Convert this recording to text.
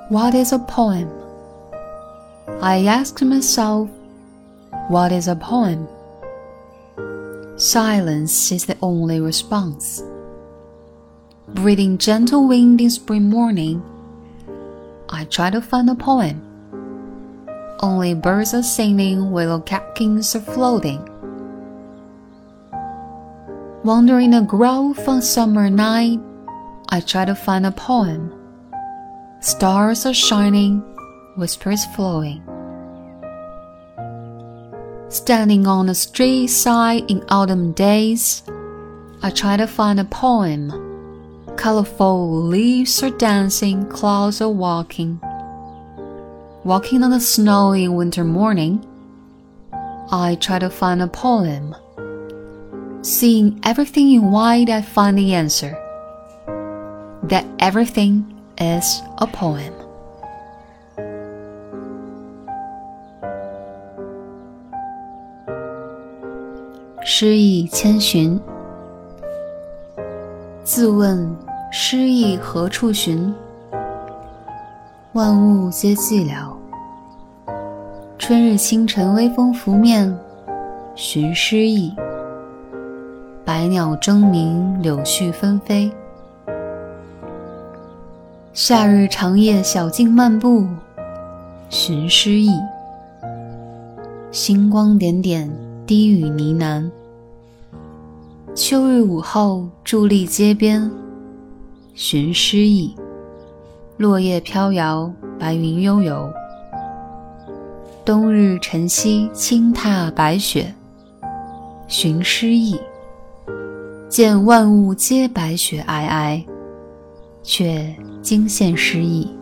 What is a poem? I asked myself, what is a poem? Silence is the only response. Breathing gentle wind in spring morning, I try to find a poem. Only birds are singing, willow catkins are floating. Wandering a grove on summer night, I try to find a poem. Stars are shining, whispers flowing. Standing on the street side in autumn days, I try to find a poem. Colorful leaves are dancing, clouds are walking. Walking on the snowy winter morning, I try to find a poem. Seeing everything in white, I find the answer. That everything is a poem. 诗意千寻。自问诗意何处寻？万物皆寂寥。春日清晨微风拂面，寻诗意。百鸟争鸣，柳絮纷飞。夏日长夜小径漫步，寻诗意。星光点点，低语呢喃。秋日午后伫立街边，寻诗意。落叶飘摇，白云悠游。冬日晨曦轻踏白雪，寻诗意。见万物皆白雪皑皑，却惊现诗意。